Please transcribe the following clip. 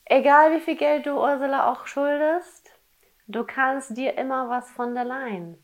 Egal wie viel Geld du Ursula auch schuldest, du kannst dir immer was von der leihen.